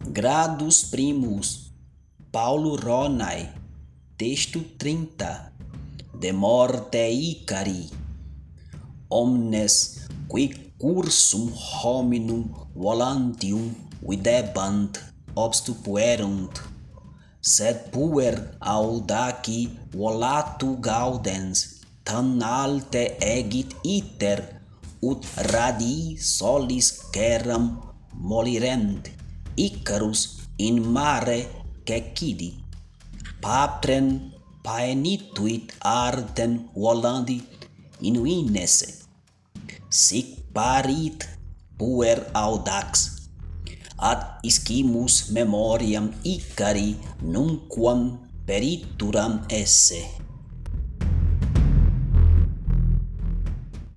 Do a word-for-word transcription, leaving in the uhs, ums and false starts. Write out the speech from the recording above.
Gradus primus, Paulo Ronai, texto trinta, de morte Icari, omnes qui cursum hominum volantium videbant obstupuerunt, sed puer audaci volatu gaudens, tan alte egit iter, ut radii solis ceram molirent, Icarus in mare cecidit, patrem paenituit artem volandi inuinesse, sic parit puer audax, ad iscimus memoriam Icari nunquam perituram esse.